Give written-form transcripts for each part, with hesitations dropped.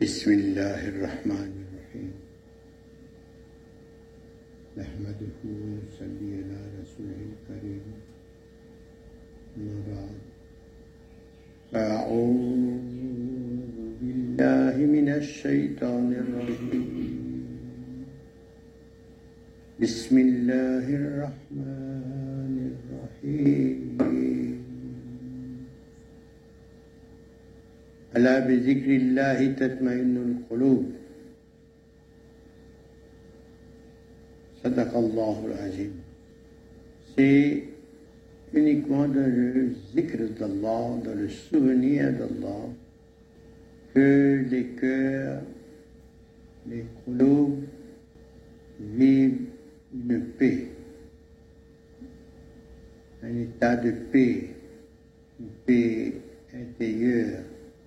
بسم الله الرحمن الرحيم نحمده ونصلي على رسوله الكريم أما بعد فأعوذ بالله من الشيطان الرجيم بسم الله الرحمن الرحيم ألا بذكر الله تطمئن القلوب صدق الله العظيم. C'est uniquement dans le zikr d'Allah, dans le souvenir d'Allah, que les cœurs, les qulub vivent une paix, un état de paix, une paix intérieure.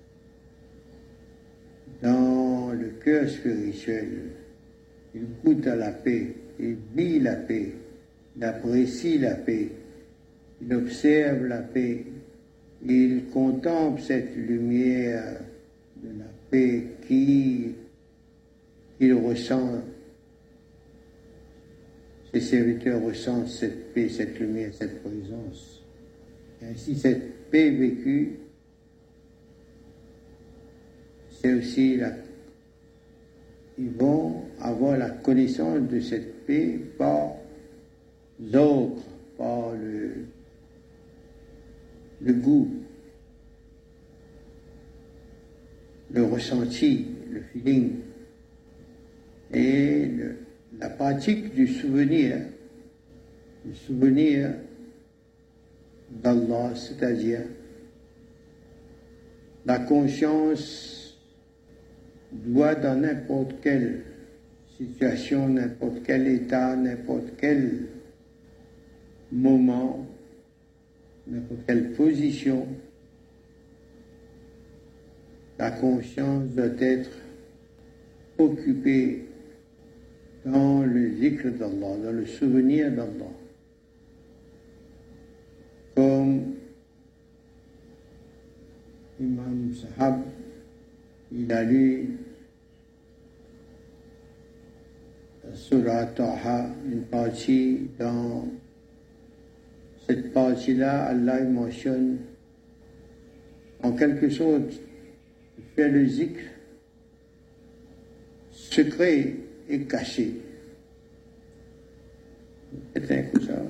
Dans le cœur spirituel, il goûte à la paix, il vit la paix, il apprécie la paix, il observe la paix, il contemple cette lumière de la paix qu'il ressent. Ses serviteurs ressentent cette paix, cette lumière, cette présence. Et ainsi, cette paix vécue, c'est aussi ils vont avoir la connaissance de cette paix par autres, par le goût, le ressenti, le feeling, et la pratique du souvenir d'Allah, c'est-à-dire la conscience doit dans n'importe quelle situation, n'importe quel état, n'importe quel moment, n'importe quelle position, la conscience doit être occupée dans le zikr d'Allah, dans le souvenir d'Allah. Comme Imam Sahab, il a lu Surah Taha, une partie. Dans cette partie-là, Allah mentionne en quelque sorte faire le zikr secret et caché. C'est un coup ça.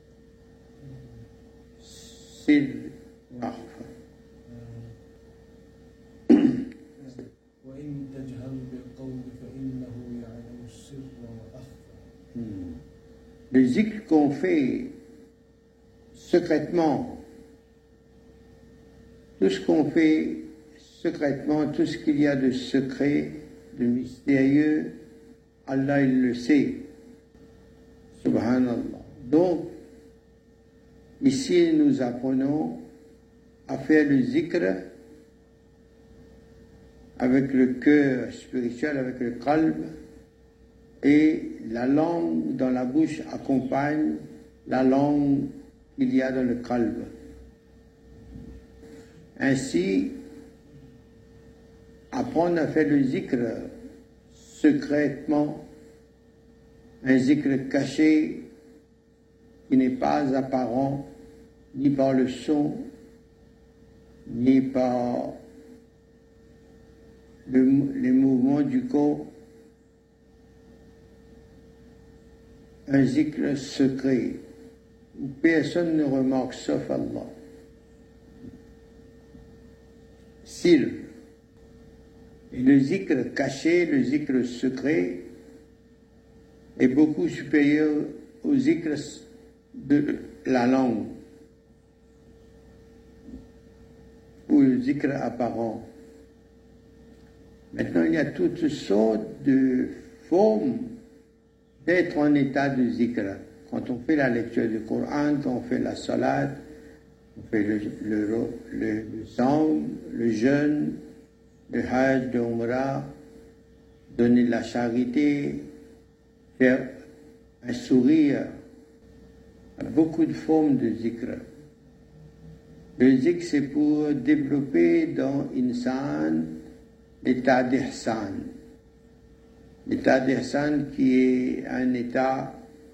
C'est l'arfa. Le zikr qu'on fait secrètement, tout ce qu'on fait secrètement, tout ce qu'il y a de secret, de mystérieux, Allah il le sait. Subhanallah. Donc, ici nous apprenons à faire le zikr avec le cœur spirituel, avec le qalb, et la langue dans la bouche accompagne la langue qu'il y a dans le qalb. Ainsi, apprendre à faire le zikr secrètement, un zikr caché qui n'est pas apparent ni par le son, ni par les mouvements du corps, un zikr secret où personne ne remarque sauf Allah. Sir. Et le zikr caché, le zikr secret est beaucoup supérieur au zikr de la langue ou le zikr apparent. Maintenant, il y a toutes sortes de formes d'être en état de zikr. Quand on fait la lecture du Coran, quand on fait la salat, on fait le saum, le jeûne, le hajj, le umrah, donner de la charité, faire un sourire. Il y a beaucoup de formes de zikr. Le zikr, c'est pour développer dans l'insan l'état d'ihsan. L'état d'ihsan qui est un état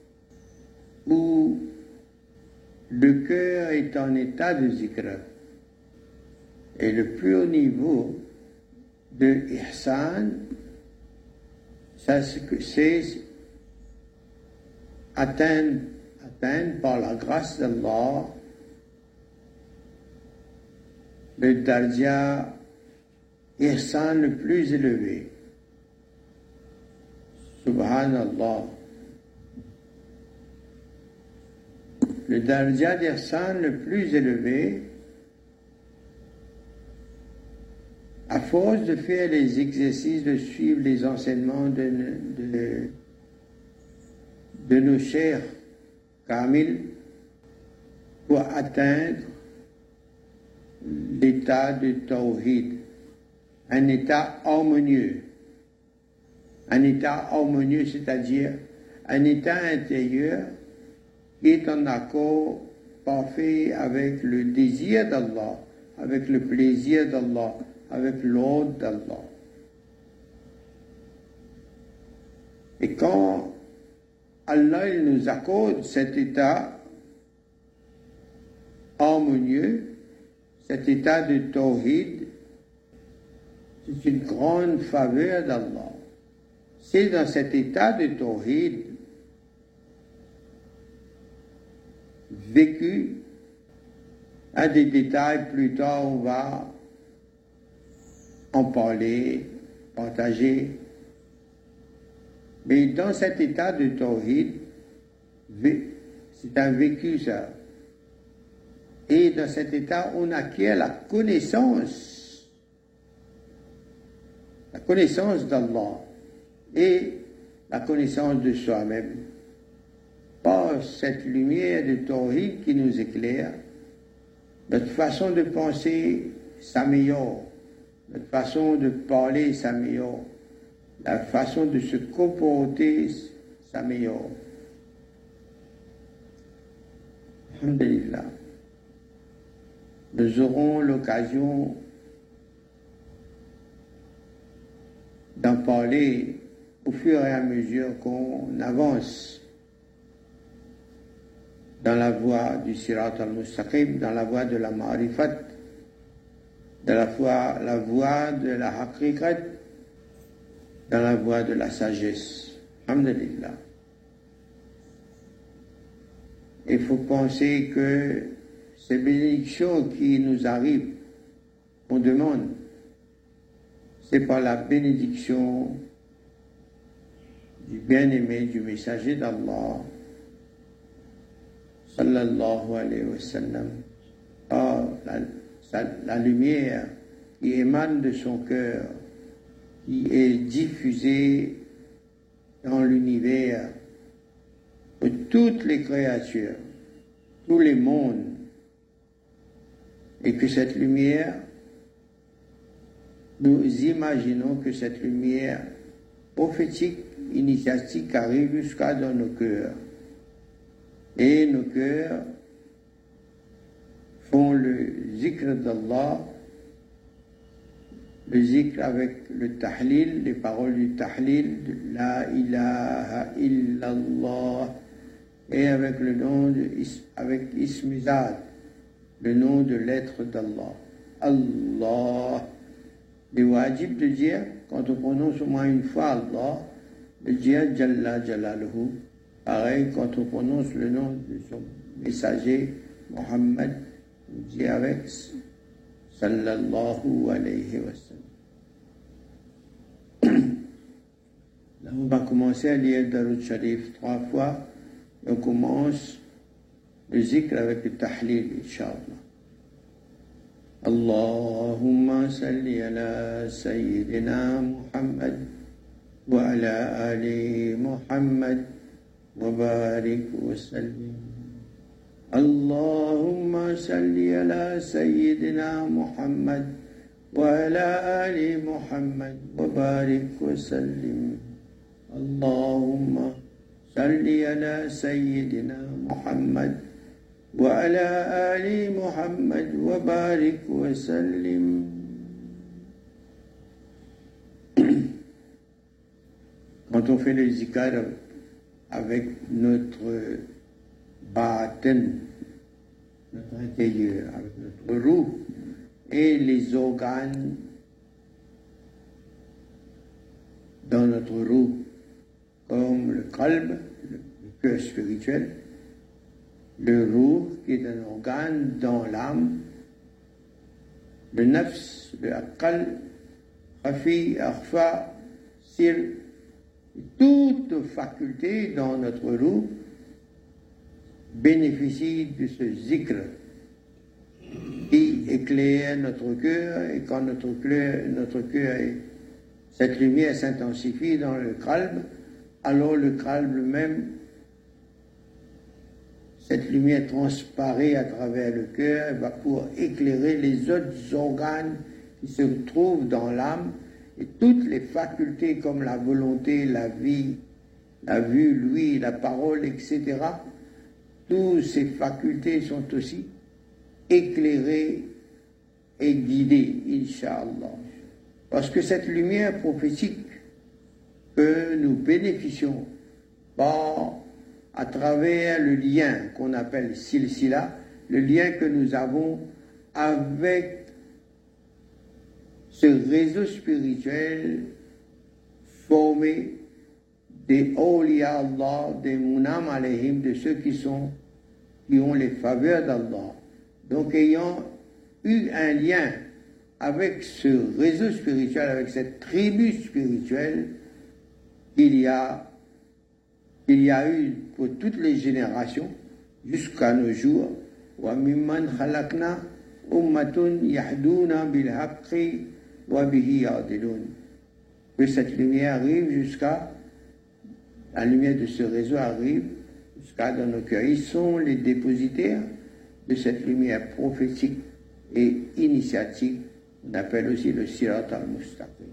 où le cœur est en état de zikr. Et le plus haut niveau de ihsan, c'est atteindre par la grâce d'Allah le darja ihsan le plus élevé. Subhanallah. Le darja d'ihsan le plus élevé, à force de faire les exercices, de suivre les enseignements de nos chers Kamil, pour atteindre l'état de Tawhid, un état harmonieux. Un état harmonieux, c'est-à-dire un état intérieur qui est en accord parfait avec le désir d'Allah, avec le plaisir d'Allah, avec l'ordre d'Allah. Et quand Allah il nous accorde cet état harmonieux, cet état de Tawhid, c'est une grande faveur d'Allah. C'est dans cet état de Tawhid vécu, à des détails plus tard on va en parler, partager. Mais dans cet état de Tawhid, c'est un vécu ça. Et dans cet état, on acquiert la connaissance d'Allah et la connaissance de soi-même. Par cette lumière de Tawhid qui nous éclaire, notre façon de penser s'améliore, notre façon de parler s'améliore, la façon de se comporter s'améliore. Alhamdulillah. Nous aurons l'occasion d'en parler au fur et à mesure qu'on avance dans la voie du Sirat al-Mustaqim, dans la voie de la Ma'rifat, dans la voie de la Haqiqat, dans la voie de la sagesse. Alhamdulillah. Il faut penser que ces bénédictions qui nous arrivent, on demande, c'est par la bénédiction du bien-aimé, du messager d'Allah, sallallahu alayhi wa sallam, par la lumière qui émane de son cœur, qui est diffusée dans l'univers de toutes les créatures, tous les mondes, et que cette lumière, nous imaginons que cette lumière prophétique, initiatique arrive jusqu'à dans nos cœurs. Et nos cœurs font le zikr d'Allah, le zikr avec le tahlil, les paroles du tahlil, de la ilaha illallah, et avec le nom avec Ismizad, le nom de l'être d'Allah. Allah. Les wajib de dire, quand on prononce au moins une fois Allah, de dire Jalla Jalaluhu. Pareil, quand on prononce le nom de son messager, Mohammed, on dit avec Sallallahu alayhi wa sallam. Là, on va commencer à lire Darud Sharif 3 fois. Et on commence le zikr avec le tahlil, Inch'Allah. Allahumma salli ala Sayyidina Muhammad wa ala ali Muhammad wa barik wa sallim. Allahumma salli ala Sayyidina Muhammad wa ala ali Muhammad wa barik wa sallim. Allahumma salli ala Sayyidina Muhammad وعلى آل محمد وبارك وسلم. Quand on fait le zikr avec notre batin, notre intérieur, avec notre roue et les organes dans notre roue, comme le qalb, le cœur spirituel, le roux qui est un organe dans l'âme, le nafs, le aqal, khafi, akhfa, sir, toutes facultés dans notre roue bénéficient de ce zikr qui éclaire notre cœur, et quand notre cœur cette lumière s'intensifie dans le qalb, alors le qalb même, cette lumière transparaît à travers le cœur et va pouvoir éclairer les autres organes qui se trouvent dans l'âme, et toutes les facultés comme la volonté, la vie, la vue, l'ouïe, la parole, etc. Toutes ces facultés sont aussi éclairées et guidées, Inch'Allah. Parce que cette lumière prophétique que nous bénéficions à travers le lien qu'on appelle silsila, le lien que nous avons avec ce réseau spirituel formé des awliya Allah, des munam alayhim, de ceux qui ont les faveurs d'Allah. Donc ayant eu un lien avec ce réseau spirituel, avec cette tribu spirituelle qu'il y a eu pour toutes les générations jusqu'à nos jours, wa mimman khalaqna ummatun yahduna bil haqqi wa bihi ya'dilun. Que cette lumière arrive la lumière de ce réseau arrive jusqu'à dans nos cœurs. Ils sont les dépositaires de cette lumière prophétique et initiatique. On appelle aussi le Sirat al-Mustaqim.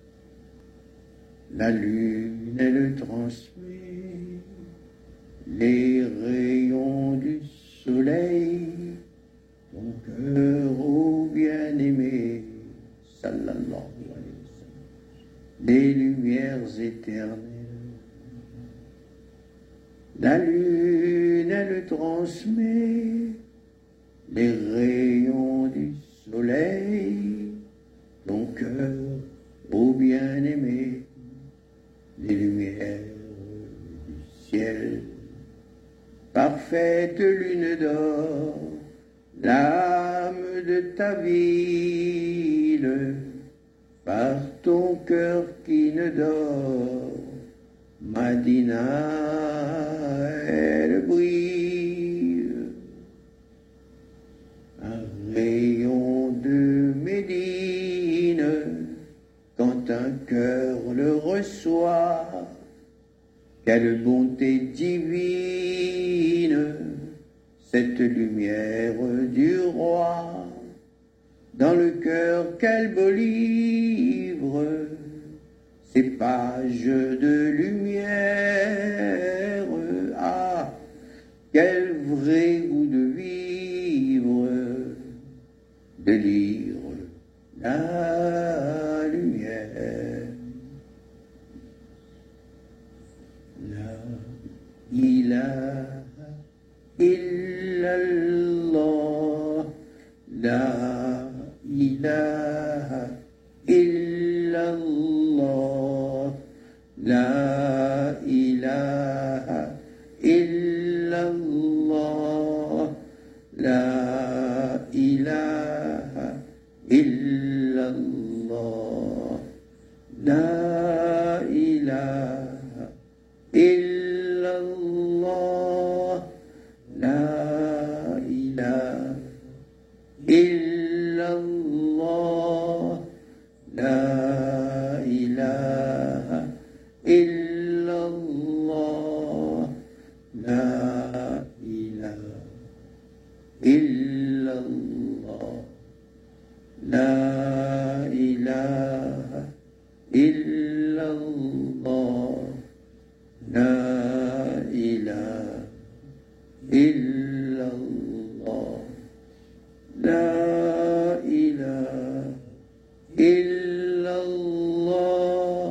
La lune, elle transmet les rayons du soleil, ton cœur ô bien-aimé, sallallahu alayhi wa sallam, des lumières éternelles. La lune, elle transmet les rayons du soleil, ton cœur ô bien-aimé, les lumières du ciel. Parfaite lune d'or, l'âme de ta ville, par ton cœur qui ne dort, Madina, elle brille. Un rayon de Médine, quand un cœur le reçoit, quelle bonté divine, cette lumière du roi. Dans le cœur, quel beau livre, ces pages de lumière. Ah, quel vrai goût de vivre, de lire la lumière. La ilaha illallah, la ilaha illallah, la ilaha illallah, la ilaha illallah, la ilaha illallah, la ilaha illallah, la ilaha illallah, la ilaha illallah, la ilaha illallah, la ilaha illallah, la ilaha illallah,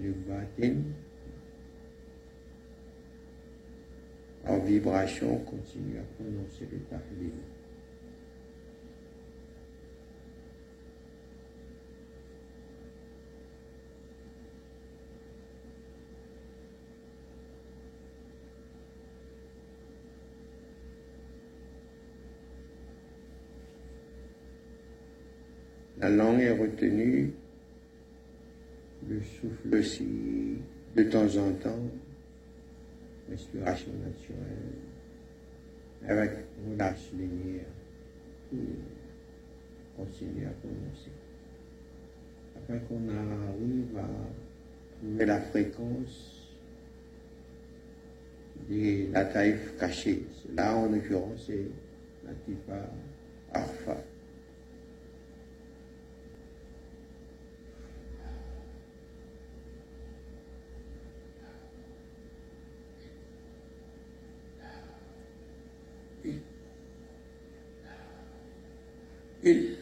le batin, en vibration, continue à prononcer le tahlil. La langue est retenue, le souffle aussi, de temps en temps, respiration naturelle, avec relâche linéaire, continue à prononcer. Afin qu'on arrive à trouver la fréquence de la taïf cachée. Là, en l'occurrence, c'est la tifa arfa. Il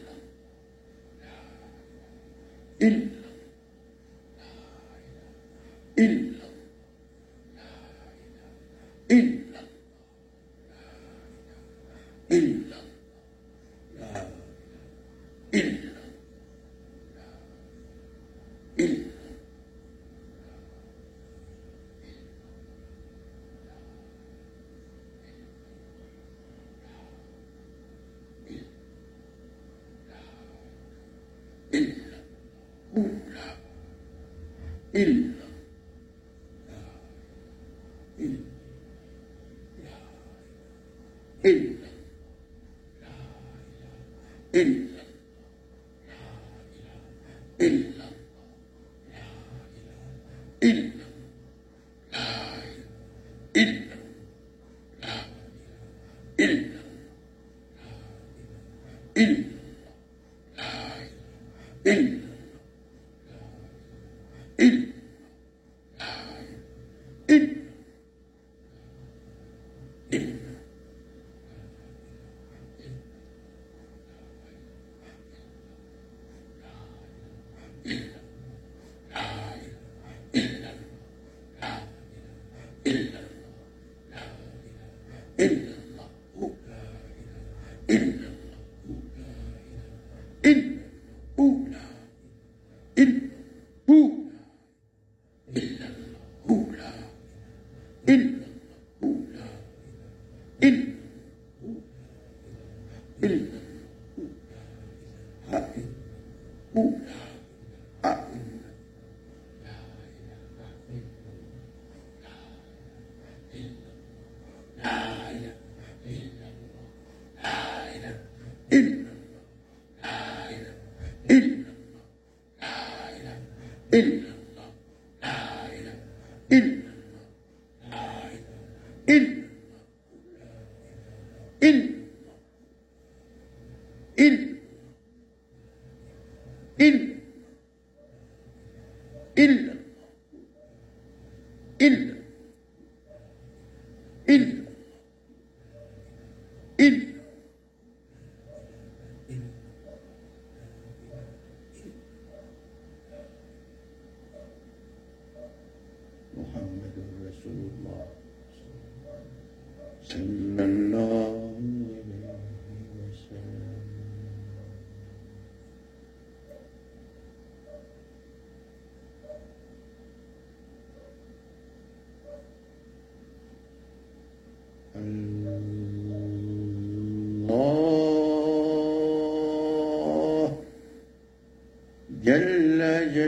جل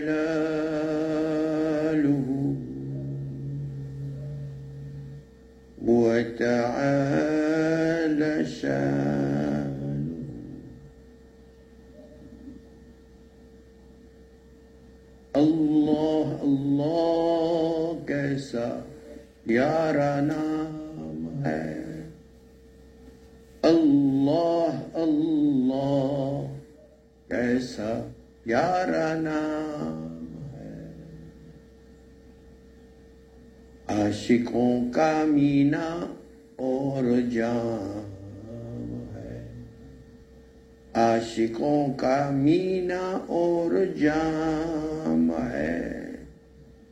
جلاله وتعالى شانه الله الله कैसा प्यारा नाम है अल्लाह अल्लाह कैसा प्यारा नाम है आशिकों का मीना और जाम है आशिकों का मीना और जाम है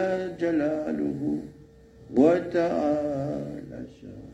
جلاله وتعالى شانه.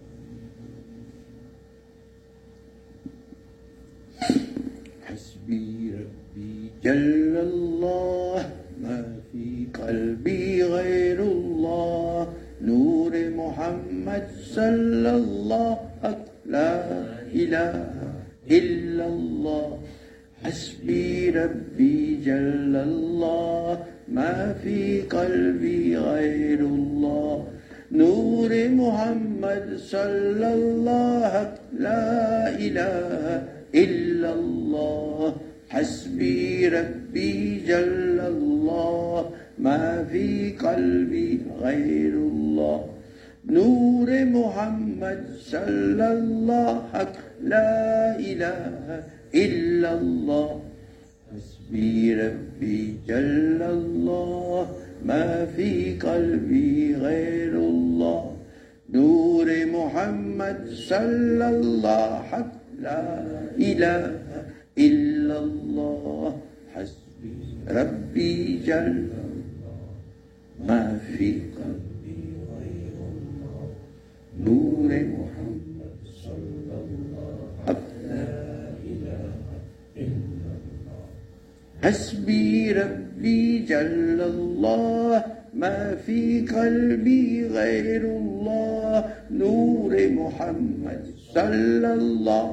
حسبي ربي جل الله ما في قلبي غير الله نور محمد صلى الله لا إله إلا الله. حسبي ربي جل الله ما في قلبي غير الله نور محمد صلى الله لا إله إلا الله. حسبي ربي جل الله ما في قلبي غير الله نور محمد صلى الله لا إله إلا الله. حسبي ربي جل الله ما في قلبي غير الله نور محمد صلى الله لا إله إلا الله. حسبي ربي جل ما في قلبي غير الله نور محمد صلى الله لا إله إلا الله. حسبي ربي جل الله ما في قلبي غير الله نور محمد صلى الله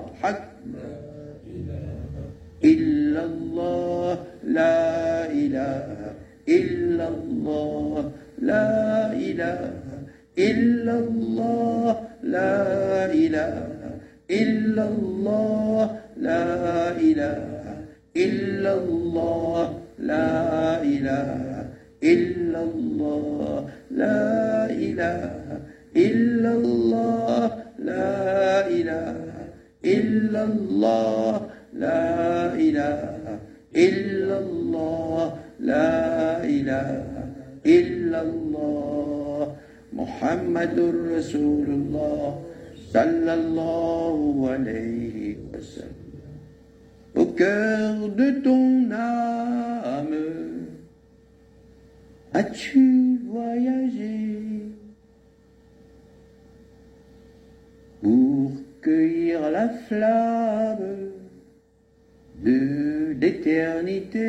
إلا الله لا إله إلا الله لا إله إلا الله لا إله إلا الله لا إله إلا الله لا إله إلا الله لا إله إلا الله لا إله إلا الله لا إله إلا الله لا إله إلا الله. محمد رسول الله صلى الله عليه وسلم. Au cœur de ton âme, as-tu voyagé pour cueillir la flamme de l'éternité?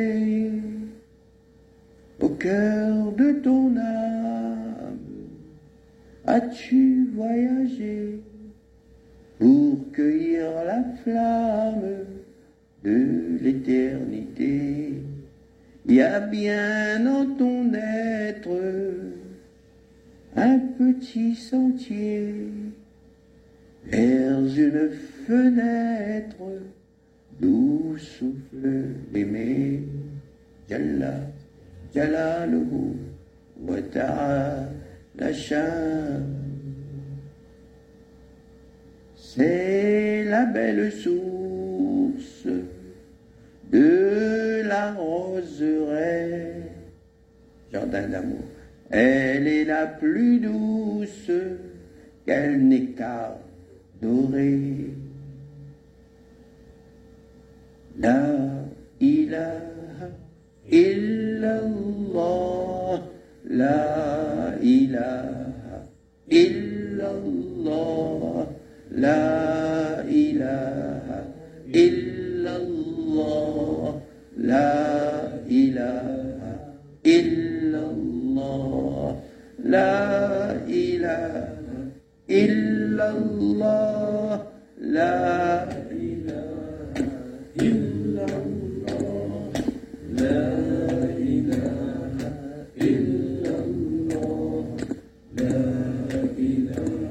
Au cœur de ton âme, as-tu voyagé pour cueillir la flamme de l'éternité? Il y a bien dans ton être un petit sentier vers une fenêtre d'où souffle l'aimer. Jalla Jalaluhu wa ta'ala sha'nuhu. C'est la belle source de la roseraie, jardin d'amour. Elle est la plus douce, quel nectar doré. La ilaha illallah, la ilaha illallah, la ilaha illallah, la ilaha illallah, la ilaha illallah, la ilaha illallah, la ilaha illallah, la ilaha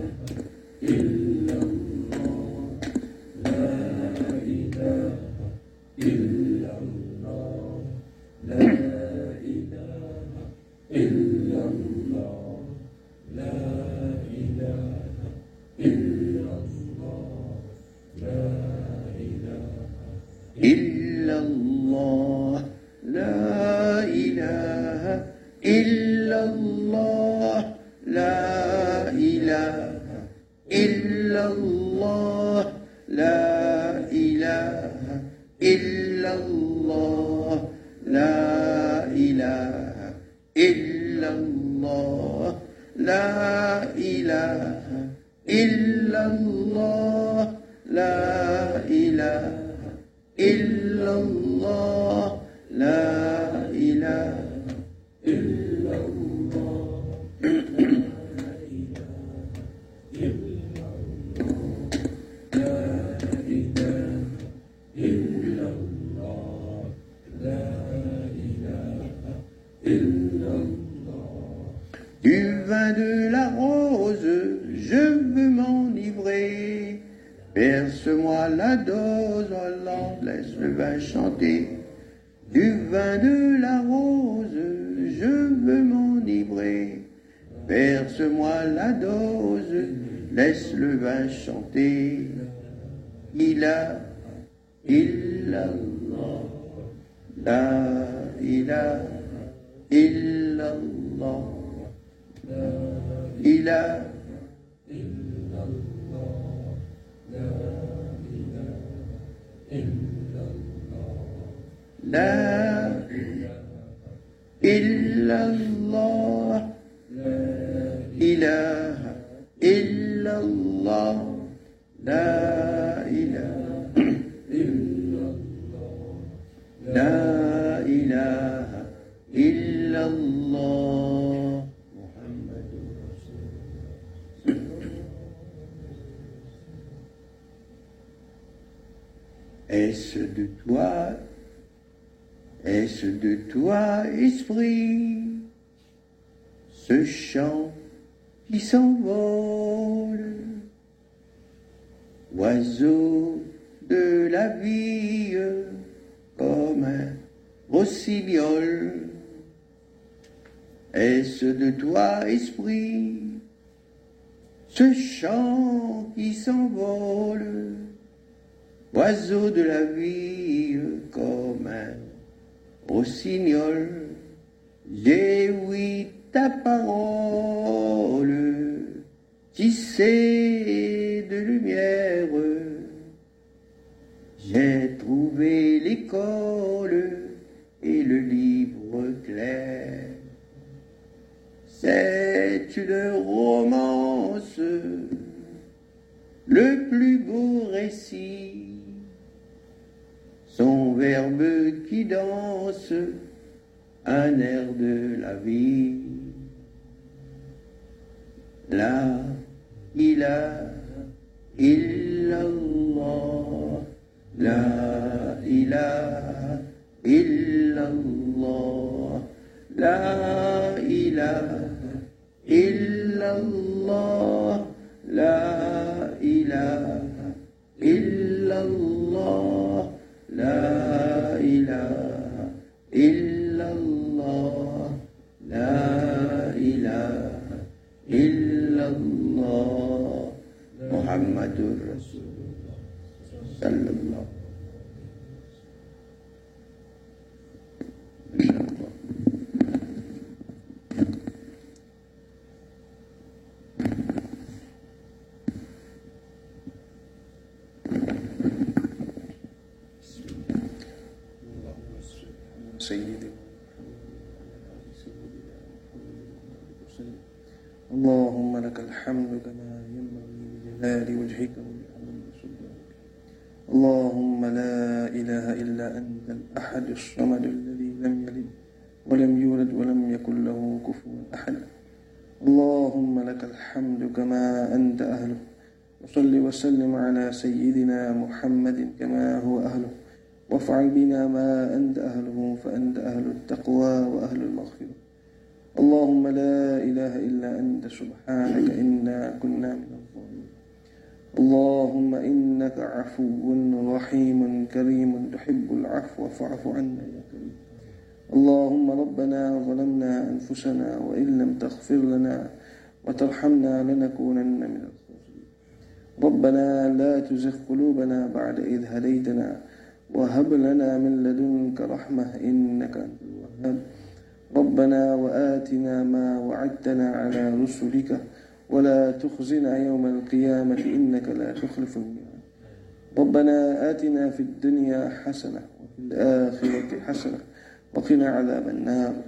illallah, la ilaha illallah, la ilaha illallah, la ilaha illallah, la ilaha illallah, la ilaha illallah, la ilaha illallah, la ilaha illallah, la ilaha illallah. الله لا إله إلا الله لا إله إلا الله لا إله إلا الله Du vin de la rose, je veux m'enivrer. Verse-moi la dose, Hollande, laisse le vin chanter. Du vin de la rose, je veux m'enivrer. Verse-moi la dose, laisse le vin chanter. Ila, illallah, la ilaha illallah, la ilaha illallah, la ilaha illallah, la illallah, la ilaha illallah, la ilaha illallah, la ilaha illallah, Muhammadur Rasulullah. Est-ce de toi, esprit, ce chant qui s'envole, oiseau de la vie, comme un rossignol? Est-ce de toi, esprit, ce chant qui s'envole, oiseau de la vie, comme un rossignol? J'ai ouï ta parole, tissée de lumière. J'ai trouvé l'école et le livre clair. C'est une romance, le plus beau récit, son verbe qui danse un air de la vie. La ilaha illallah, la ilaha illallah, la ilaha illallah, la ilaha illallah, la ilaha illallah, la ilaha illallah, Muhammadur Rasulullah sallallahu. اللهم لك الحمد كما ينبغي لجلال وجهك ولعظيم سلطانك. اللهم لا إله إلا أنت الأحد الصمد الذي لم يلد ولم يولد ولم يكن له كفوا أحد. اللهم لك الحمد كما أنت أهله، وصل وسلم على سيدنا محمد كما هو أهله، وافعل بنا ما أنت أهله، فأنت أهل التقوى وأهل المغفرة. اللهم لا إله إلا أنت سبحانك إنا كنا من الظالمين. اللهم إنك عفو رحيم كريم تحب العفو فاعف عنا يا كريم. اللهم ربنا ظلمنا أنفسنا وإن لم تغفر لنا وترحمنا لنكونن من الخاسرين. ربنا لا تزغ قلوبنا بعد إذ هديتنا وهب لنا من لدنك رحمة إنك أنت الوهاب. ربنا وآتنا ما وعدتنا على رسلك ولا تخزنا يوم القيامة إنك لا تخلف الميعاد. ربنا آتنا في الدنيا حسنة وفي الآخرة حسنة وقنا عذاب النار.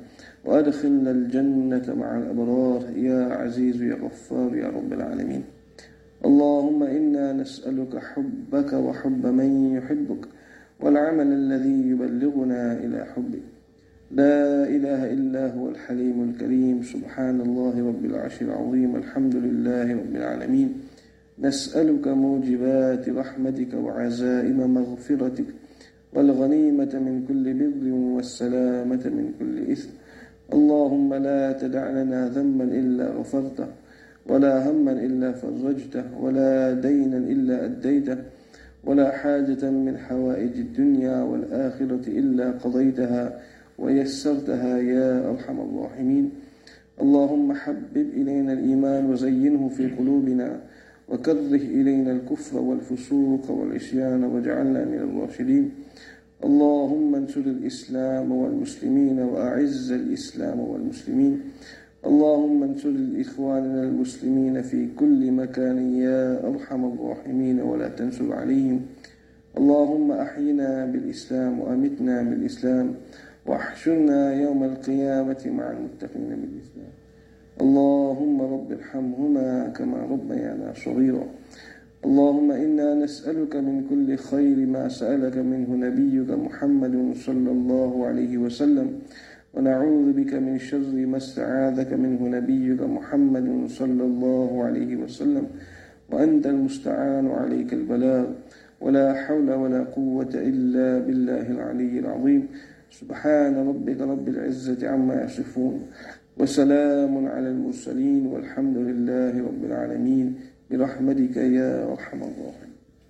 وأدخلنا الجنة مع الأبرار يا عزيز يا غفار يا رب العالمين. اللهم إنا نسألك حبك وحب من يحبك والعمل الذي يبلغنا إلى حبك. لا إله إلا هو الحليم الكريم، سبحان الله رب العرش العظيم، الحمد لله رب العالمين. نسألك موجبات رحمتك وعزائم مغفرتك والغنيمة من كل بر والسلامة من كل إثم. اللهم لا تدع لنا ذنبا إلا غفرته ولا هما إلا فرجته ولا دينا إلا أديته ولا حاجة من حوائج الدنيا والآخرة إلا قضيتها ويسرتها يا أرحم الراحمين. اللهم حبب إلينا الإيمان وزينه في قلوبنا وكره إلينا الكفر والفسوق والعصيان واجعلنا من الراشدين. اللهم انصر الإسلام والمسلمين وأعز الإسلام والمسلمين. اللهم انصر إخواننا المسلمين في كل مكان يا أرحم الراحمين ولا تنصر عليهم. اللهم أحينا بالإسلام وأمتنا بالإسلام واحشرنا يوم القيامة مع المتقين بالإسلام. اللهم رب ارحمهما كما ربيانا صغيرا. اللهم إنا نسألك من كل خير ما سألك منه نبيك محمد صلى الله عليه وسلم، ونعوذ بك من شر ما استعاذك منه نبيك محمد صلى الله عليه وسلم، وأنت المستعان عليك البلاغ، ولا حول ولا قوة إلا بالله العلي العظيم. سبحان ربك رب العزة عما يصفون وسلام على المرسلين والحمد لله رب العالمين برحمتك يا أرحم الراحمين.